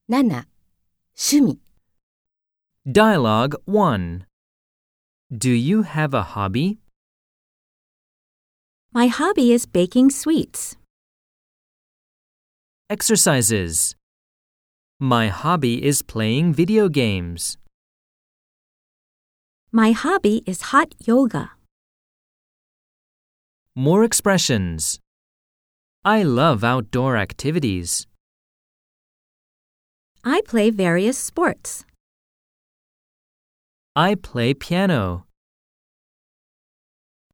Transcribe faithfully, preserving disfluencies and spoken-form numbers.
なな、趣味。 Dialogue one. Do you have a hobby? My hobby is baking sweets. Exercises. My hobby is playing video games. My hobby is hot yoga. More expressions. I love outdoor activities. I play various sports. I play piano.